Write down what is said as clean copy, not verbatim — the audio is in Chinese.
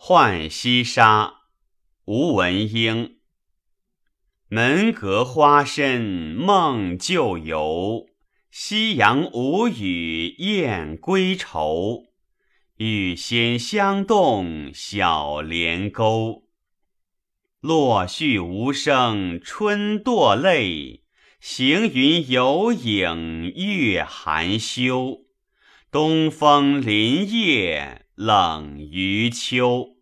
浣溪沙，吴文英。门阁花深梦旧游，夕阳无语雁归愁。欲先香动小帘钩，落絮无声春堕泪。行云有影月含羞，东风林叶冷于秋。